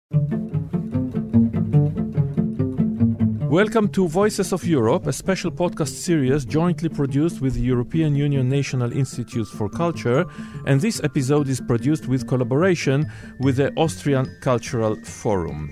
Welcome to Voices of Europe, a special podcast series jointly produced with the European Union National Institutes for Culture, and this episode is produced with collaboration with the Austrian Cultural Forum.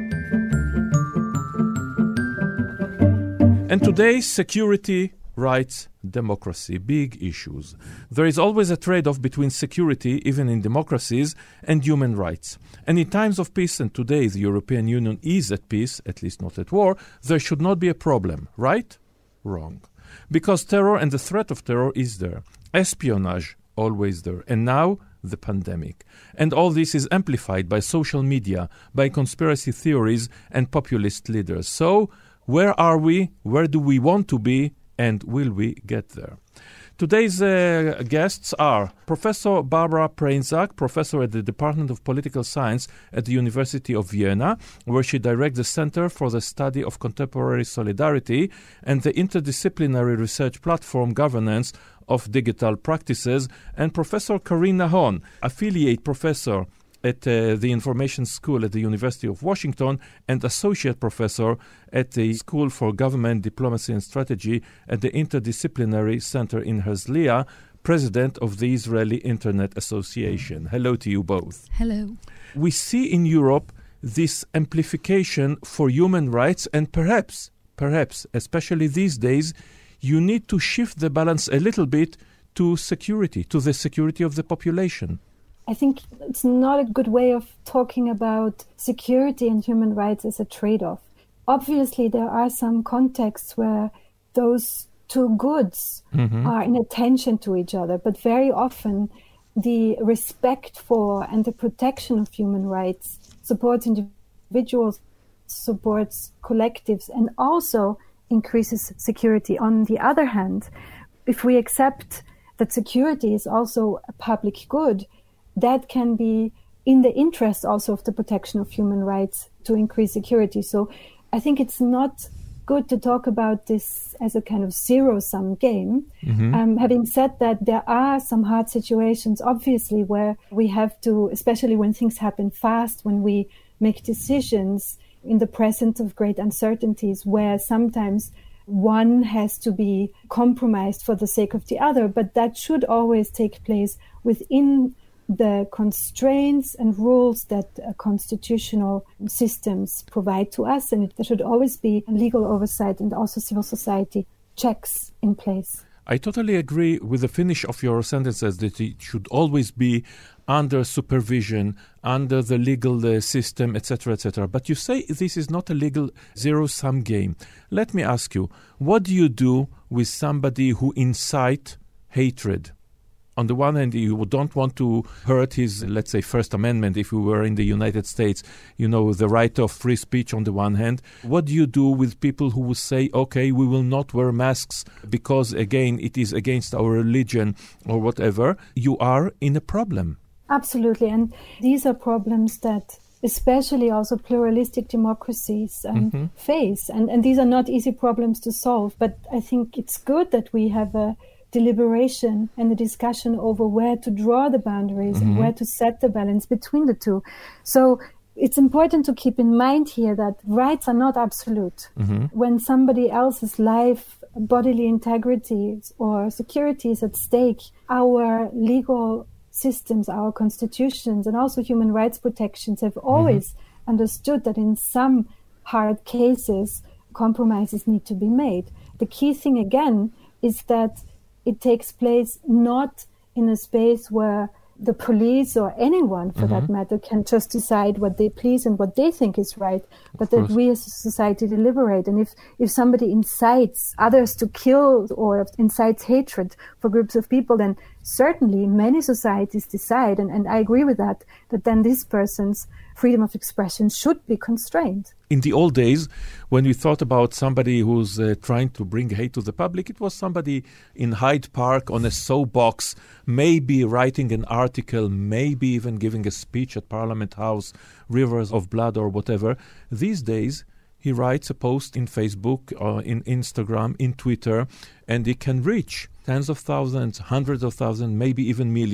And today, security, rights, democracy, big issues. There is always a trade-off between security, even in democracies, and human rights. And in times of peace, and today the European Union is at peace, at least not at war, there should not be a problem, right? Wrong. Because terror and the threat of terror is there. Espionage, always there. And now, the pandemic. And all this is amplified by social media, by conspiracy theories and populist leaders. So, where are we? Where do we want to be? And will we get there? Today's guests are Professor Barbara Preinzak, professor at the Department of Political Science at the University of Vienna, where she directs the Center for the Study of Contemporary Solidarity and the interdisciplinary research platform Governance of Digital Practices, and Professor Karine Nahon, affiliate professor at the Information School at the University of Washington and associate professor at the School for Government, Diplomacy and Strategy at the Interdisciplinary Center in Herzliya, president of the Israeli Internet Association. Hello to you both. Hello. We see in Europe this amplification for human rights, and perhaps, especially these days, you need to shift the balance a little bit to security, to the security of the population. I think it's not a good way of talking about security and human rights as a trade-off. Obviously, there are some contexts where those two goods are in tension to each other, but very often the respect for and the protection of human rights supports individuals, supports collectives, and also increases security. On the other hand, if we accept that security is also a public good, that can be in the interest also of the protection of human rights to increase security. So I think it's not good to talk about this as a kind of zero-sum game. Having said that, there are some hard situations, obviously, where we have to, especially when things happen fast, when we make decisions in the presence of great uncertainties, where sometimes one has to be compromised for the sake of the other, but that should always take place within the constraints and rules that constitutional systems provide to us, and there should always be legal oversight and also civil society checks in place. I totally agree with the finish of your sentences that it should always be under supervision, under the legal system, etc., etc. But you say this is not a legal zero-sum game. Let me ask you, what do you do with somebody who incites hatred? On the one hand, you don't want to hurt his, let's say, First Amendment, if we were in the United States, the right of free speech on the one hand. What do you do with people who will say, okay, we will not wear masks because, again, it is against our religion or whatever? You are in a problem. Absolutely. And these are problems that especially also pluralistic democracies face. And these are not easy problems to solve. But I think it's good that we have a deliberation and a discussion over where to draw the boundaries and where to set the balance between the two. So it's important to keep in mind here that rights are not absolute. When somebody else's life, bodily integrity or security is at stake, our legal systems, our constitutions, and also human rights protections have always understood that in some hard cases, compromises need to be made. The key thing, again, is that it takes place not in a space where the police or anyone, for that matter, can just decide what they please and what they think is right, but that we as a society deliberate. And if somebody incites others to kill or incites hatred for groups of people, then certainly many societies decide, and I agree with that then this person's freedom of expression should be constrained. In the old days, when we thought about somebody who's trying to bring hate to the public, it was somebody in Hyde Park on a soapbox, maybe writing an article, maybe even giving a speech at Parliament House, Rivers of Blood or whatever. These days, he writes a post in Facebook, or in Instagram, in Twitter, and he can reach tens of thousands, hundreds of thousands, maybe even millions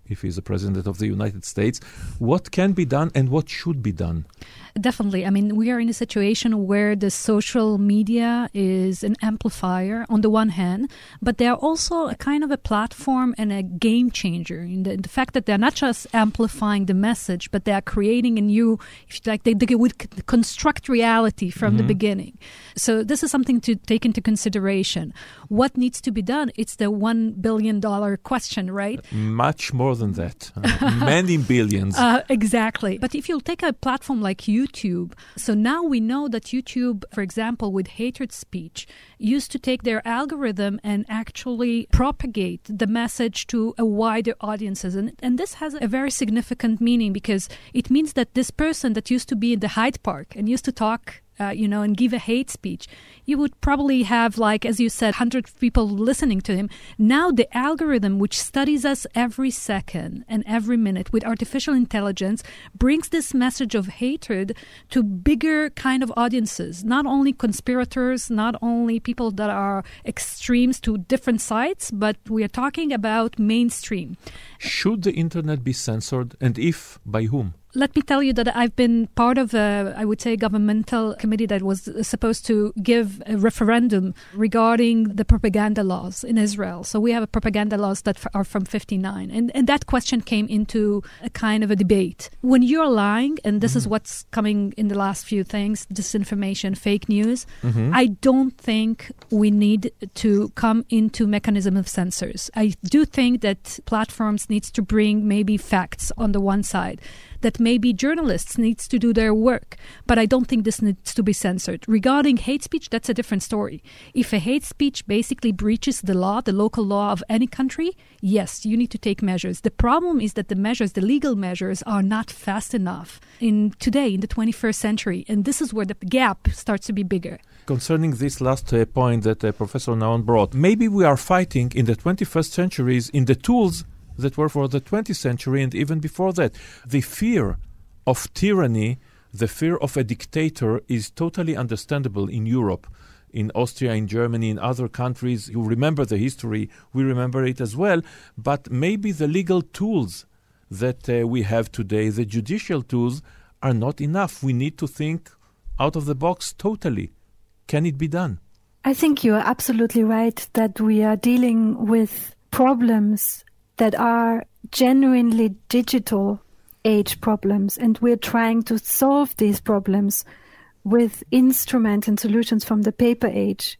if he's the President of the United States. What can be done and what should be done? Definitely. I mean, we are in a situation where the social media is an amplifier on the one hand, but they are also a kind of a platform and a game changer in the fact that they're not just amplifying the message, but they are creating a new, if you like, they would construct reality from the beginning. So this is something to take into consideration. What needs to be done? It's the $1 billion question, right? Much more than that. Many billions. Exactly. But if you'll take a platform like YouTube, so now we know that YouTube, for example, with hatred speech, used to take their algorithm and actually propagate the message to a wider audiences. And this has a very significant meaning because it means that this person that used to be in the Hyde Park and used to talk and give a hate speech, you would probably have, like, as you said, 100 people listening to him. Now the algorithm, which studies us every second and every minute with artificial intelligence, brings this message of hatred to bigger kind of audiences, not only conspirators, not only people that are extremes to different sides, but we are talking about mainstream. Should the internet be censored, and if, by whom? Let me tell you that I've been part of I would say, governmental committee that was supposed to give a referendum regarding the propaganda laws in Israel. So we have propaganda laws that are from 1959. And that question came into a kind of a debate. When you're lying, and this is what's coming in the last few things, disinformation, fake news, I don't think we need to come into mechanism of censors. I do think that platforms needs to bring maybe facts on the one side, that maybe journalists needs to do their work. But I don't think this needs to be censored. Regarding hate speech, that's a different story. If a hate speech basically breaches the law, the local law of any country, yes, you need to take measures. The problem is that the measures, the legal measures, are not fast enough in today, in the 21st century. And this is where the gap starts to be bigger. Concerning this last point that Professor Naon brought, maybe we are fighting in the 21st centuries in the tools that were for the 20th century and even before that. The fear of tyranny, the fear of a dictator is totally understandable in Europe, in Austria, in Germany, in other countries. You remember the history, we remember it as well, but maybe the legal tools that we have today, the judicial tools, are not enough. We need to think out of the box totally. Can it be done? I think you are absolutely right that we are dealing with problems that are genuinely digital age problems, and we're trying to solve these problems with instruments and solutions from the paper age.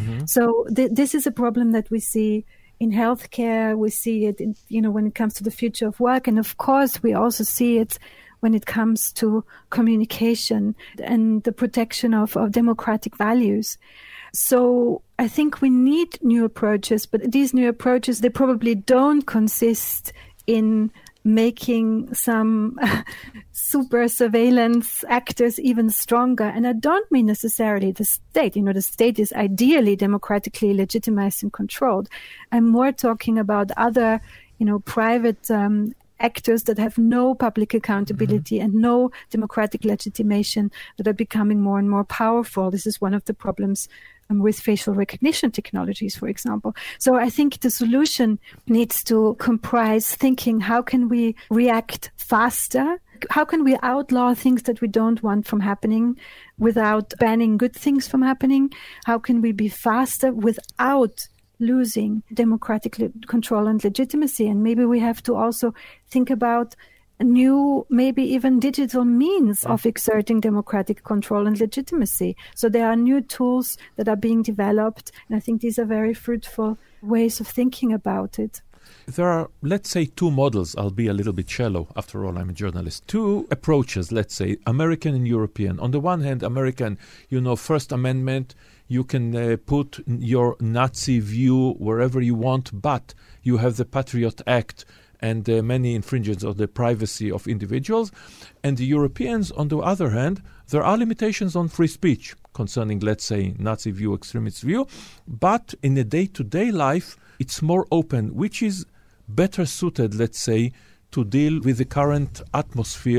So this is a problem that we see in healthcare, we see it in, when it comes to the future of work, and of course we also see it when it comes to communication and the protection of democratic values. So I think we need new approaches, but these new approaches, they probably don't consist in making some super surveillance actors even stronger. And I don't mean necessarily the state. The state is ideally democratically legitimized and controlled. I'm more talking about other, private actors that have no public accountability and no democratic legitimation, that are becoming more and more powerful. This is one of the problems with facial recognition technologies, for example. So I think the solution needs to comprise thinking, how can we react faster? How can we outlaw things that we don't want from happening without banning good things from happening? How can we be faster without losing democratic control and legitimacy? And maybe we have to also think about new, maybe even digital means of exerting democratic control and legitimacy. So there are new tools that are being developed, and I think these are very fruitful ways of thinking about it. There are, let's say, two models. I'll be a little bit shallow. After all, I'm a journalist. Two approaches, let's say, American and European. On the one hand, American, First Amendment, you can put your Nazi view wherever you want, but you have the Patriot Act and many infringements of the privacy of individuals. And the Europeans, on the other hand, there are limitations on free speech concerning, let's say, Nazi view, extremist view. But in a day-to-day life, it's more open, which is better suited, let's say, to deal with the current atmosphere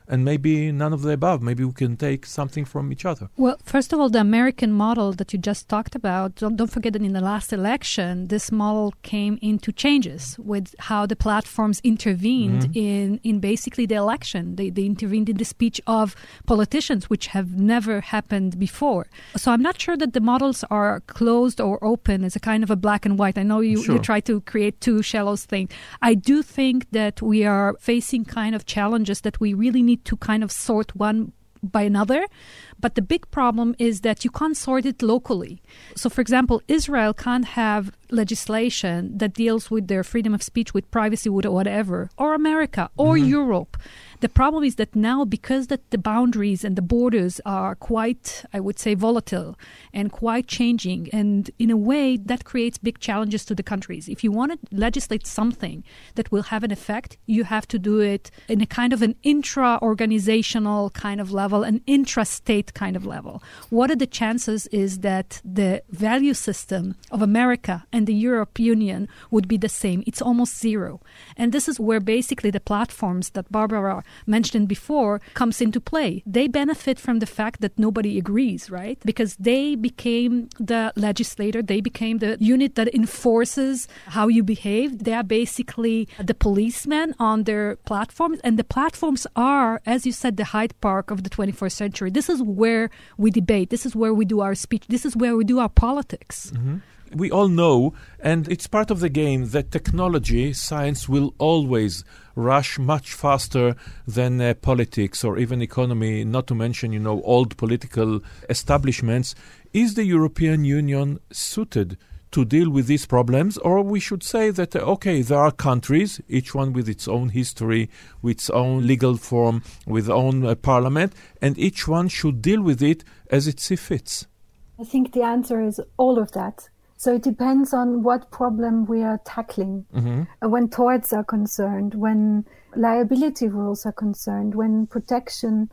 and maybe none of the above. Maybe we can take something from each other. Well, first of all, the American model that you just talked about, don't forget that in the last election, this model came into changes with how the platforms intervened in basically the election. They intervened in the speech of politicians, which have never happened before. So I'm not sure that the models are closed or open as a kind of a black and white. I know you try to create two shallows thing. I do think that we are facing kind of challenges that we really need to kind of sort one by another. But the big problem is that you can't sort it locally. So, for example, Israel can't have legislation that deals with their freedom of speech, with privacy, with whatever, or America, or Europe. The problem is that now, because that the boundaries and the borders are quite, I would say, volatile and quite changing, and in a way that creates big challenges to the countries. If you want to legislate something that will have an effect, you have to do it in a kind of an intra-organizational kind of level, an intra-state kind of level. What are the chances is that the value system of America and the European Union would be the same? It's almost zero. And this is where basically the platforms that Barbara mentioned before comes into play. They benefit from the fact that nobody agrees, right? Because they became the legislator, they became the unit that enforces how you behave. They are basically the policemen on their platforms, and the platforms are, as you said, the Hyde Park of the 21st century. This is where we debate. This is where we do our speech. This is where we do our politics. We all know, and it's part of the game, that technology, science will always rush much faster than politics or even economy, not to mention, old political establishments. Is the European Union suited to deal with these problems? Or we should say that, there are countries, each one with its own history, with its own legal form, with its own parliament, and each one should deal with it as it sees fits. I think the answer is all of that. So it depends on what problem we are tackling. When torts are concerned, when liability rules are concerned, when protections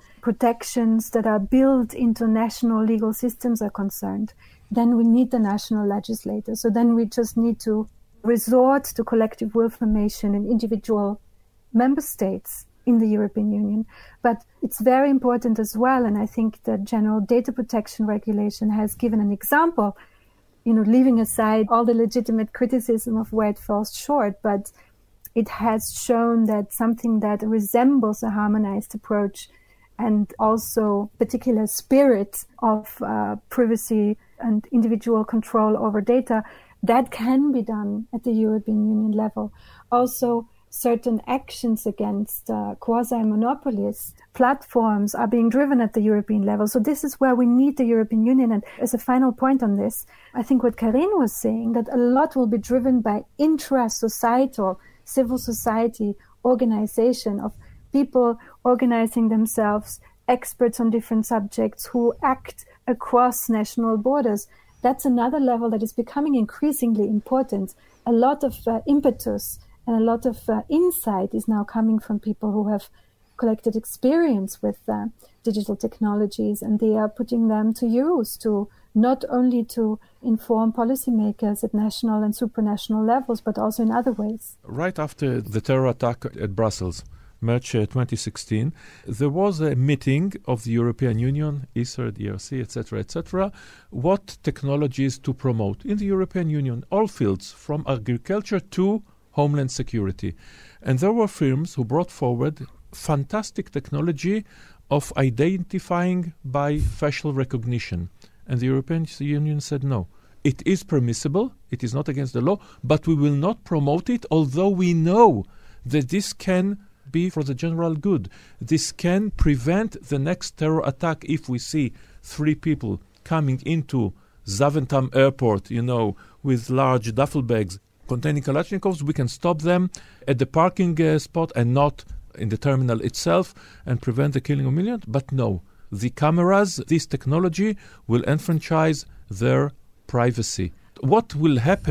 that are built into national legal systems are concerned, then we need the national legislator. So then we just need to resort to collective will formation in individual member states in the European Union. But it's very important as well, and I think the General Data Protection Regulation has given an example, leaving aside all the legitimate criticism of where it falls short, but it has shown that something that resembles a harmonized approach and also particular spirit of privacy and individual control over data, that can be done at the European Union level. Also, certain actions against quasi-monopolies, platforms are being driven at the European level. So this is where we need the European Union. And as a final point on this, I think what Karine was saying, that a lot will be driven by intra-societal, civil society organization of people organizing themselves, experts on different subjects who act across national borders. That's another level that is becoming increasingly important. A lot of impetus and a lot of insight is now coming from people who have collected experience with digital technologies, and they are putting them to use to not only to inform policymakers at national and supranational levels, but also in other ways. Right after the terror attack at Brussels, March 2016, there was a meeting of the European Union, ESA, the ERC, etc., what technologies to promote in the European Union, all fields, from agriculture to homeland security. And there were firms who brought forward fantastic technology of identifying by facial recognition. And the European Union said no. It is permissible, it is not against the law, but we will not promote it, although we know that this can be for the general good. This can prevent the next terror attack if we see 3 people coming into Zaventem airport, with large duffel bags containing Kalashnikovs. We can stop them at the parking spot and not in the terminal itself and prevent the killing of millions. But no, the cameras, this technology will enfranchise their privacy. What will happen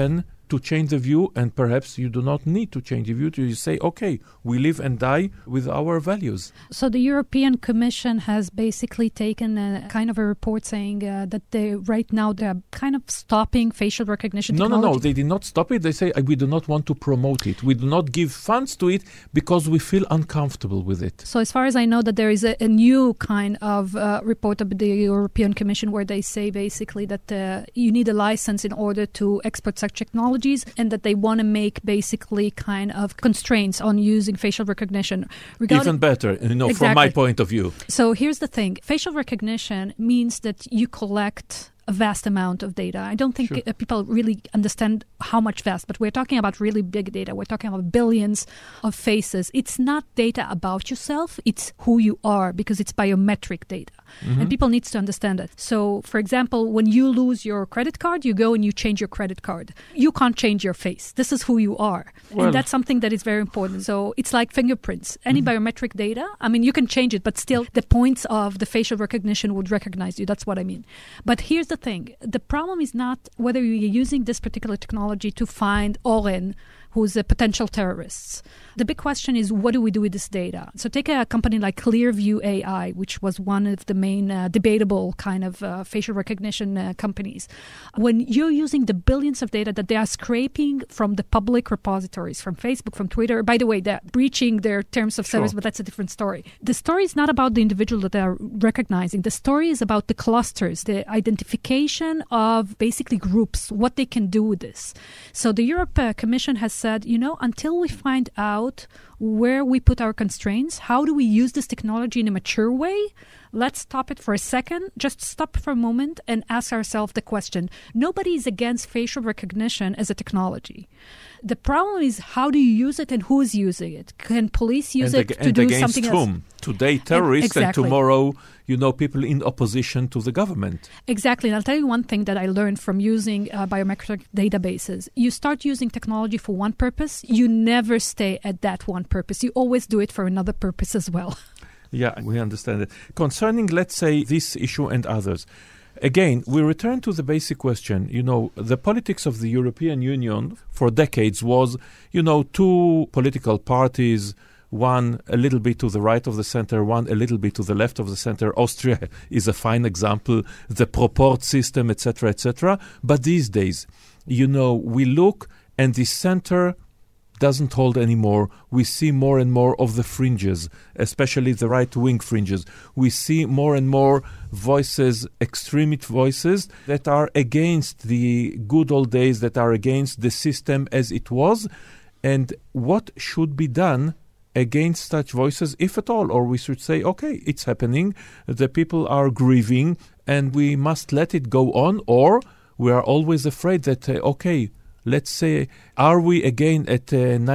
to change the view, and perhaps you do not need to change the view. You say, okay, we live and die with our values. So the European Commission has basically taken a kind of a report saying that right now they're kind of stopping facial recognition technology. No, they did not stop it. They say we do not want to promote it. We do not give funds to it because we feel uncomfortable with it. So as far as I know, that there is a new kind of report of the European Commission where they say basically that you need a license in order to export such technologies, and that they want to make basically kind of constraints on using facial recognition. Even better, Exactly. From my point of view. So here's the thing. Facial recognition means that you collect a vast amount of data. I don't think people really understand how much vast, but we're talking about really big data. We're talking about billions of faces. It's not data about yourself, it's who you are, because it's biometric data. Mm-hmm. And people need to understand it. So, for example, when you lose your credit card, you go and you change your credit card. You can't change your face. This is who you are. Well, and that's something that is very important. So it's like fingerprints. Any biometric data, I mean, you can change it, but still the points of the facial recognition would recognize you. That's what I mean. But here's the thing. The problem is not whether you're using this particular technology to find Oren, who's a potential terrorist. The big question is, what do we do with this data? So take a company like Clearview AI, which was one of the main debatable kind of facial recognition companies. When you're using the billions of data that they are scraping from the public repositories, from Facebook, from Twitter, by the way, they're breaching their terms of service, but that's a different story. The story is not about the individual that they are recognizing. The story is about the clusters, the identification of basically groups, what they can do with this. So the European Commission has said, until we find out where we put our constraints, how do we use this technology in a mature way? Let's stop it for a second, just stop for a moment and ask ourselves the question. Nobody is against facial recognition as a technology. The problem is, how do you use it and who is using it? Can police use it to do something else? Whom? Today, terrorists, and tomorrow, people in opposition to the government. Exactly. And I'll tell you one thing that I learned from using biometric databases. You start using technology for one purpose, you never stay at that one purpose. You always do it for another purpose as well. Yeah, we understand it. Concerning, let's say, this issue and others, again, we return to the basic question. The politics of the European Union for decades was, two political parties, one a little bit to the right of the center, one a little bit to the left of the center. Austria is a fine example, the Proport system, etc., etc. But these days, we look and the center doesn't hold anymore. We see more and more of the fringes, especially the right-wing fringes. We see more and more voices, extremist voices, that are against the good old days, that are against the system as it was. And what should be done against such voices, if at all? Or we should say, okay, it's happening, the people are grieving, and we must let it go on, or we are always afraid that, let's say, are we again at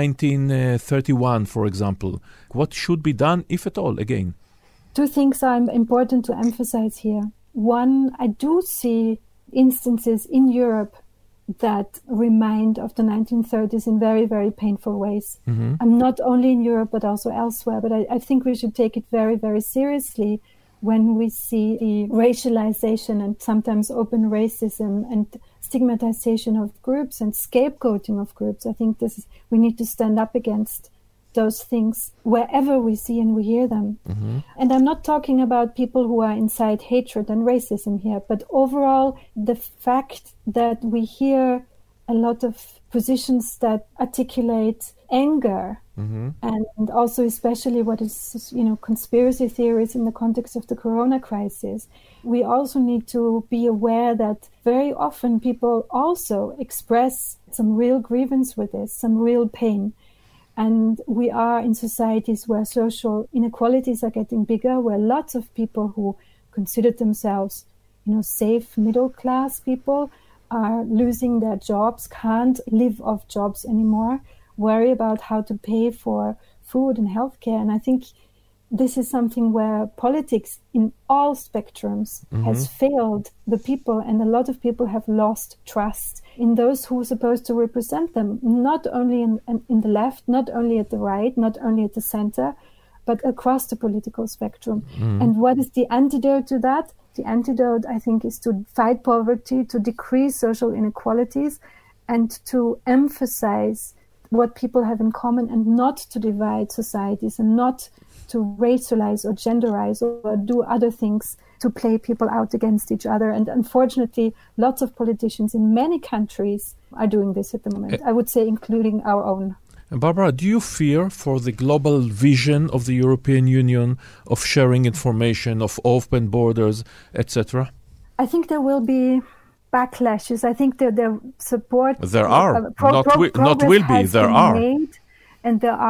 1931, for example? What should be done, if at all, again? Two things are important to emphasize here. One, I do see instances in Europe that remind of the 1930s in very, very painful ways. Mm-hmm. Not only in Europe, but also elsewhere. But I think we should take it very, very seriously when we see the racialization and sometimes open racism and stigmatization of groups and scapegoating of groups. I think we need to stand up against those things wherever we see and we hear them. Mm-hmm. And I'm not talking about people who are incite hatred and racism here, but overall the fact that we hear a lot of positions that articulate anger, mm-hmm. and also especially what is, conspiracy theories in the context of the corona crisis. We also need to be aware that very often people also express some real grievance with this, some real pain. And we are in societies where social inequalities are getting bigger, where lots of people who consider themselves, safe middle-class people are losing their jobs, can't live off jobs anymore, worry about how to pay for food and healthcare. And I think this is something where politics in all spectrums mm-hmm. has failed the people, and a lot of people have lost trust in those who are supposed to represent them, not only in the left, not only at the right, not only at the center, but across the political spectrum. Mm. And what is the antidote to that? The antidote, I think, is to fight poverty, to decrease social inequalities, and to emphasize what people have in common and not to divide societies and not to racialize or genderize or do other things to play people out against each other. And unfortunately, lots of politicians in many countries are doing this at the moment, I would say including our own. Barbara, do you fear for the global vision of the European Union of sharing information, of open borders, etc.? I think there will be backlashes. I think that the support... There are. Not will be. There are. Made, and there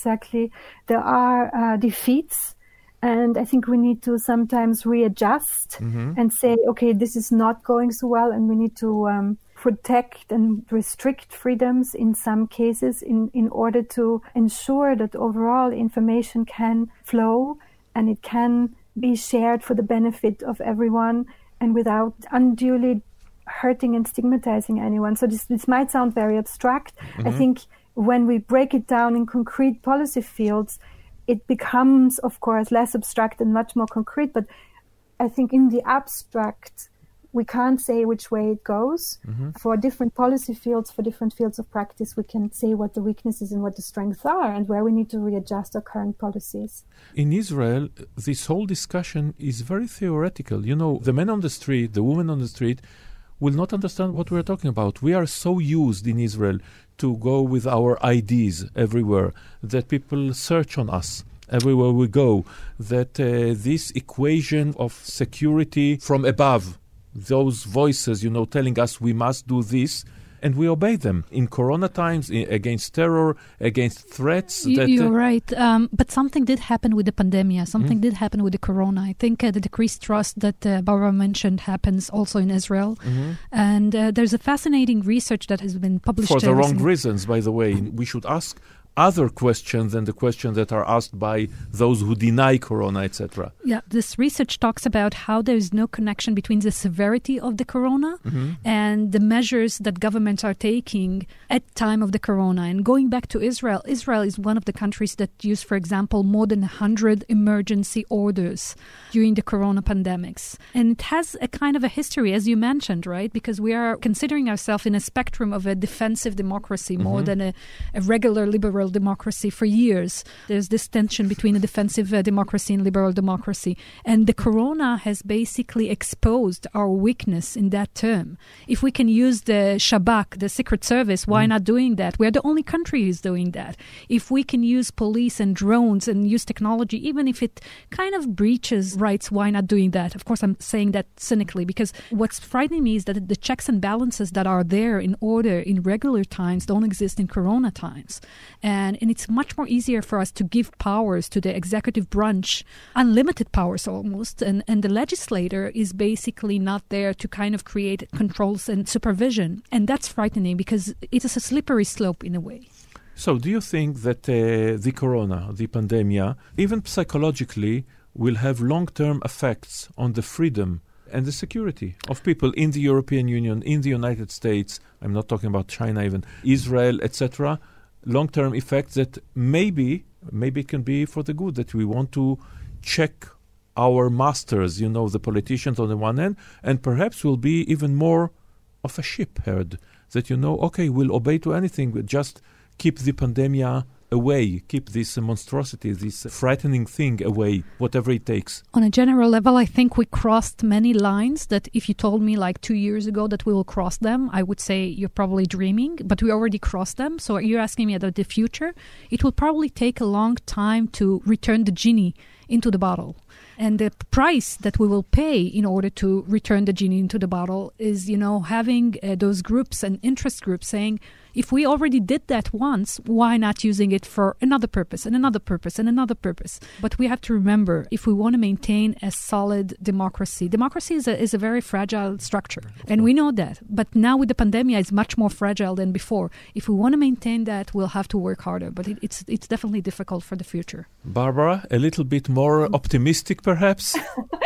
are defeats. And I think we need to sometimes readjust and say, okay, this is not going so well, and we need to protect and restrict freedoms in some cases in order to ensure that overall information can flow and it can be shared for the benefit of everyone and without unduly hurting and stigmatizing anyone. So this might sound very abstract. I think when we break it down in concrete policy fields, it becomes, of course, less abstract and much more concrete. But I think in the abstract, we can't say which way it goes. For different policy fields, for different fields of practice, we can say what the weaknesses and what the strengths are and where we need to readjust our current policies. In Israel, this whole discussion is very theoretical. You know, the men on the street, the women on the street will not understand what we're talking about. We are so used in Israel to go with our IDs everywhere that people search on us everywhere we go, that this equation of security from above, those voices, telling us we must do this, and we obey them in Corona times, against terror, against threats. You're right. But something did happen with the pandemic. Something did happen with the Corona. I think the decreased trust that Barbara mentioned happens also in Israel. And there's a fascinating research that has been published. For the wrong reasons, by the way. We should ask other questions than the questions that are asked by those who deny Corona, etc. Yeah, this research talks about how there is no connection between the severity of the Corona and the measures that governments are taking at time of the Corona. And going back to Israel, Israel is one of the countries that used, for example, more than 100 emergency orders during the Corona pandemics. And it has a kind of a history, as you mentioned, right? Because we are considering ourselves in a spectrum of a defensive democracy more than a regular liberal democracy for years. There's this tension between a defensive democracy and liberal democracy. And the Corona has basically exposed our weakness in that term. If we can use the Shabak, the Secret Service, why not doing that? We're the only country who's doing that. If we can use police and drones and use technology, even if it kind of breaches rights, why not doing that? Of course, I'm saying that cynically, because what's frightening me is that the checks and balances that are there in order in regular times don't exist in Corona times. And it's much more easier for us to give powers to the executive branch, unlimited powers almost, and the legislator is basically not there to kind of create controls and supervision. And that's frightening because it is a slippery slope in a way. So do you think that the Corona, the pandemic, even psychologically, will have long-term effects on the freedom and the security of people in the European Union, in the United States? I'm not talking about China even, Israel, etc., long-term effects that maybe it can be for the good, that we want to check our masters, the politicians on the one hand, and perhaps will be even more of a ship herd, that, okay, we'll obey to anything, but just keep the pandemia away, keep this monstrosity, this frightening thing away, whatever it takes. On a general level, I think we crossed many lines that if you told me like 2 years ago that we will cross them, I would say you're probably dreaming, but we already crossed them. So you're asking me about the future. It will probably take a long time to return the genie into the bottle. And the price that we will pay in order to return the genie into the bottle is, having those groups and interest groups saying, if we already did that once, why not using it for another purpose and another purpose and another purpose? But we have to remember, if we want to maintain a solid democracy is a very fragile structure. And we know that. But now with the pandemic, it's much more fragile than before. If we want to maintain that, we'll have to work harder. But it's definitely difficult for the future. Barbara, a little bit more optimistic, perhaps?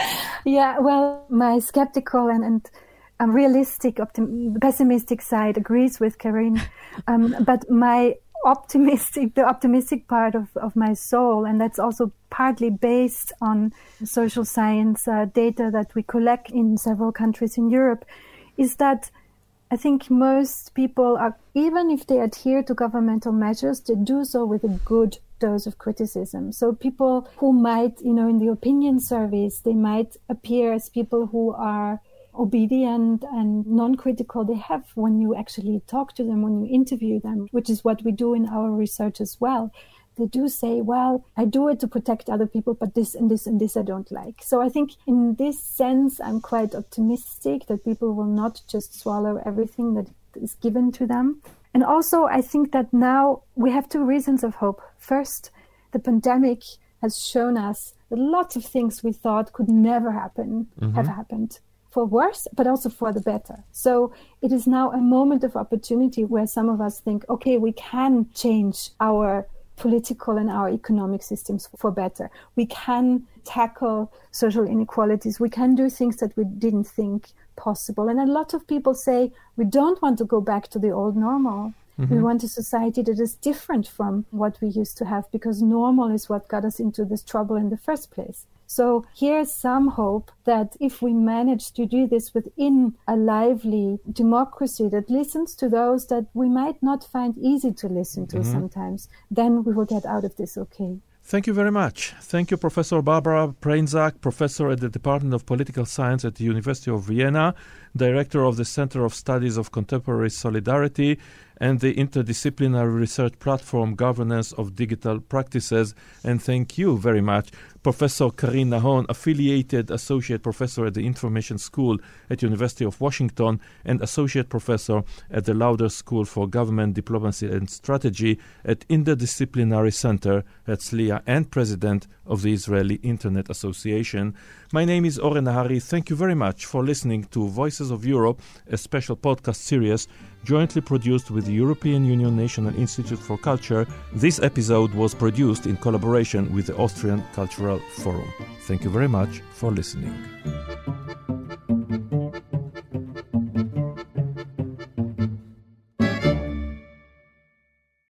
Yeah, well, my skeptical and realistic, pessimistic side agrees with Karine. But my the optimistic part of my soul, and that's also partly based on social science data that we collect in several countries in Europe, is that I think most people are, even if they adhere to governmental measures, they do so with a good dose of criticism. So people who might, in the opinion surveys, they might appear as people who are obedient and non-critical. They have, when you actually talk to them, when you interview them, which is what we do in our research as well, they do say, well, I do it to protect other people, but this and this and this I don't like. So I think in this sense, I'm quite optimistic that people will not just swallow everything that is given to them. And also, I think that now we have two reasons of hope. First, the pandemic has shown us that lots of things we thought could never happen have happened. For worse, but also for the better. So it is now a moment of opportunity where some of us think, okay, we can change our political and our economic systems for better. We can tackle social inequalities. We can do things that we didn't think possible. And a lot of people say, we don't want to go back to the old normal. We want a society that is different from what we used to have, because normal is what got us into this trouble in the first place. So here's some hope that if we manage to do this within a lively democracy that listens to those that we might not find easy to listen to sometimes, then we will get out of this okay. Thank you very much. Thank you, Professor Barbara Preinzak, professor at the Department of Political Science at the University of Vienna, director of the Center of Studies of Contemporary Solidarity, and the interdisciplinary research platform Governance of Digital Practices. And thank you very much, Professor Karine Nahon, affiliated associate professor at the Information School at University of Washington and associate professor at the Lauder School for Government Diplomacy and Strategy at Interdisciplinary Center at Herzliya, and president of the Israeli Internet Association. My name is Oren Nahari. Thank you very much for listening to Voices of Europe, a special podcast series jointly produced with the European Union National Institute for Culture. This episode was produced in collaboration with the Austrian Cultural Forum. Thank you very much for listening.